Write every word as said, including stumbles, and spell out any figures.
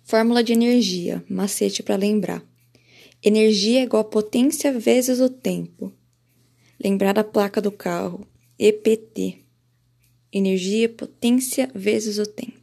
Fórmula de energia, macete para lembrar. Energia é igual a potência vezes o tempo. Lembrar da placa do carro, E P T. Energia, potência vezes o tempo.